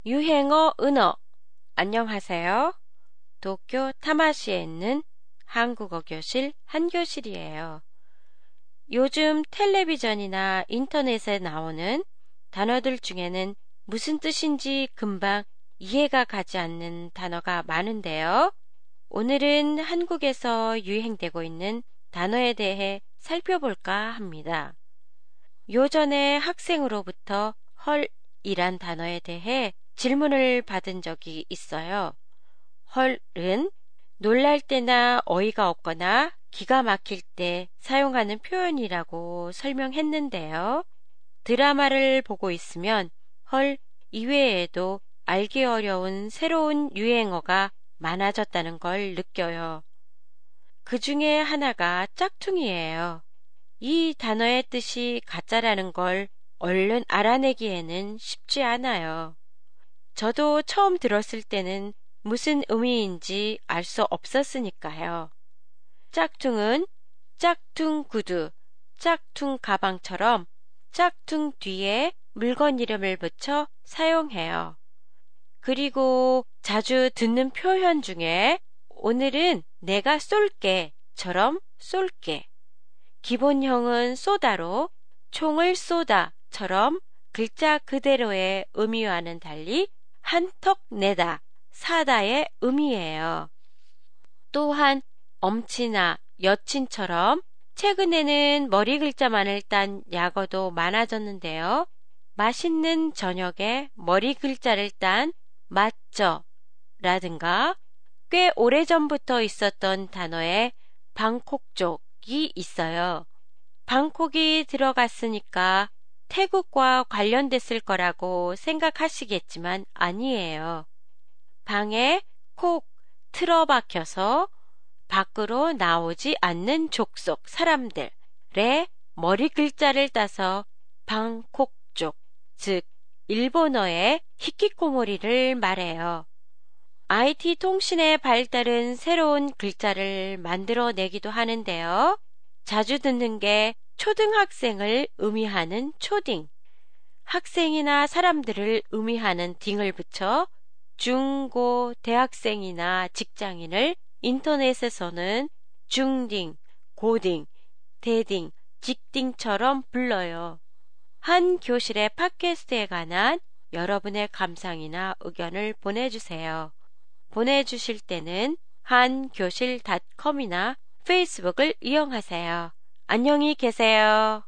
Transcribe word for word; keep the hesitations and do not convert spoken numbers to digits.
유행어 은어. 안녕하세요. 도쿄 타마시에 있는 한국어 교실 한교실이에요. 요즘 텔레비전이나 인터넷에 나오는 단어들 중에는 무슨 뜻인지 금방 이해가 가지 않는 단어가 많은데요. 오늘은 한국에서 유행되고 있는 단어에 대해 살펴볼까 합니다. 요전에 학생으로부터 헐이란 단어에 대해 질문을 받은 적이 있어요. 헐은 놀랄 때나 어이가 없거나 기가 막힐 때 사용하는 표현이라고 설명했는데요. 드라마를 보고 있으면 헐 이외에도 알기 어려운 새로운 유행어가 많아졌다는 걸 느껴요. 그 중에 하나가 짝퉁이에요. 이 단어의 뜻이 가짜라는 걸 얼른 알아내기에는 쉽지 않아요. 저도 처음 들었을 때는 무슨 의미인지 알 수 없었으니까요. 짝퉁은 짝퉁 구두, 짝퉁 가방처럼 짝퉁 뒤에 물건 이름을 붙여 사용해요. 그리고 자주 듣는 표현 중에 오늘은 내가 쏠게처럼 쏠게. 기본형은 쏘다로 총을 쏘다처럼 글자 그대로의 의미와는 달리 한턱 내다, 사다의 의미예요. 또한 엄친아, 여친처럼 최근에는 머리 글자만을 딴 약어도 많아졌는데요. 맛있는 저녁에 머리 글자를 딴 맞죠? 라든가 꽤 오래전부터 있었던 단어에 방콕족이 있어요. 방콕이 들어갔으니까 태국과 관련됐을 거라고 생각하시겠지만 아니에요. 방에 콕 틀어박혀서 밖으로 나오지 않는 족속 사람들의 머리 글자를 따서 방콕족, 즉 일본어의 히키코모리를 말해요. 아이티 통신의 발달은 새로운 글자를 만들어내기도 하는데요. 자주 듣는 게 초등학생을 의미하는 초딩, 학생이나 사람들을 의미하는 딩을 붙여 중고 대학생이나 직장인을 인터넷에서는 중딩, 고딩, 대딩, 직딩처럼 불러요. 한 교실의 팟캐스트에 관한 여러분의 감상이나 의견을 보내주세요. 보내주실 때는 한교실 닷컴이나 페이스북을 이용하세요. 안녕히 계세요.